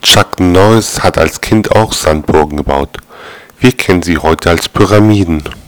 Chuck Norris hat als Kind auch Sandburgen gebaut. Wir kennen sie heute als Pyramiden.